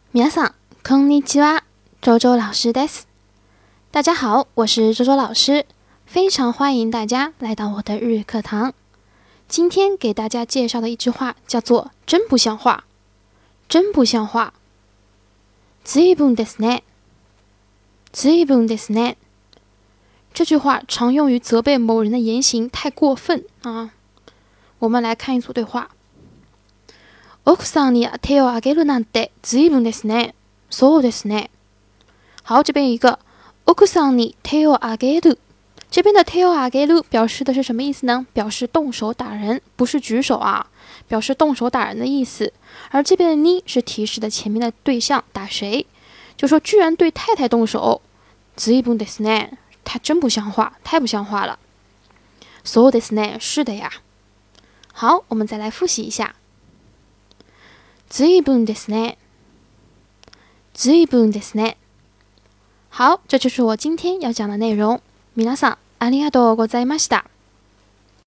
皆さん、こんにちは。周周老师です。大家好，我是周周老师，非常欢迎大家来到我的日语课堂。今天给大家介绍的一句话叫做“真不像话”，真不像话。随分ですね，随分ですね。这句话常用于责备某人的言行太过分啊。我们来看一组对话。奥さんに手を挙げるなんて随分ですね。そうですね。好，这边一个奥さんに手を挙げる，这边的手を挙げる表示的是什么意思呢？表示动手打人，不是举手啊，表示动手打人的意思。而这边的に是提示的前面的对象打谁，就说居然对太太动手，随分ですね，他真不像话，太不像话了。そうですね，是的呀。好，我们再来复习一下。随分ですね，随分ですね。好，这就是我今天要讲的内容。皆さん、ありがとうございました。